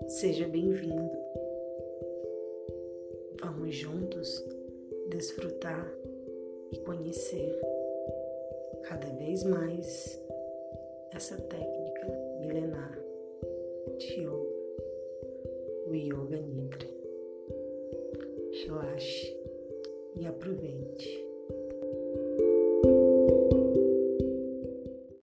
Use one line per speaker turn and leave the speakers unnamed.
Seja bem-vindo. Vamos juntos desfrutar e conhecer cada vez mais essa técnica milenar de yoga, o Yoga Nidra. Relaxe e aproveite.